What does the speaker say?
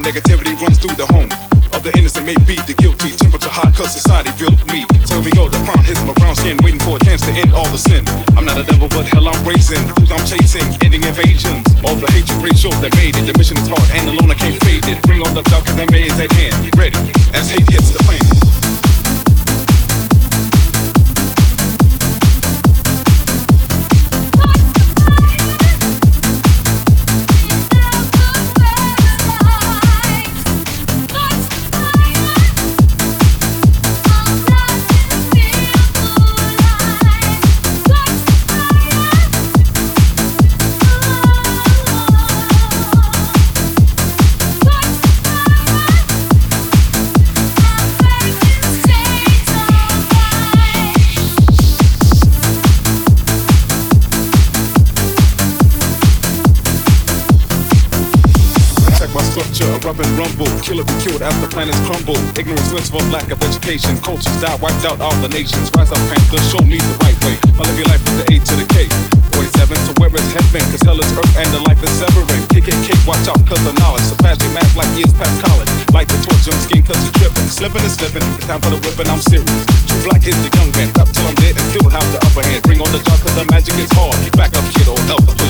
negativity runs through the home of the innocent, may be the guilty. Temperature hot cause society built me. So we go, the crown hits my brown skin, waiting for a chance to end all the sin. I'm not a devil, but hell I'm racing. Who's I'm chasing, ending invasions. All the hatred ratios that made it. The mission is hard and alone I can't fade it. Bring on the dark cause that may is at hand. Ready as hate hits the fan. Rub and rumble, killer be killed after planets crumble. Ignorance wins for lack of education. Cultures die, wiped out all the nations. Rise up, Panther, show me the right way. I live your life with the A to the K. 47, so where is heaven? Cause hell is earth and the life is severing. Kick it, kick, watch out cause the knowledge. Surpass your math like years past college. Light the torch on skin cause you're tripping. Slipping and slipping, it's time for the whipping, I'm serious. True black is the young man, up till I'm dead and still have the upper hand. Bring on the dark cause the magic is hard. Keep back up, kiddo, help us.